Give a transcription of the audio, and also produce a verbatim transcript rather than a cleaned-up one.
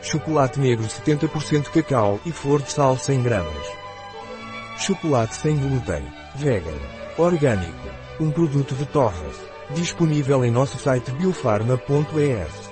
Chocolate negro setenta por cento cacau e flor de sal cem gramas. Chocolate sem glúten. Vegan. Orgânico. Um produto de Torres. Disponível em nosso site biofarma ponto es.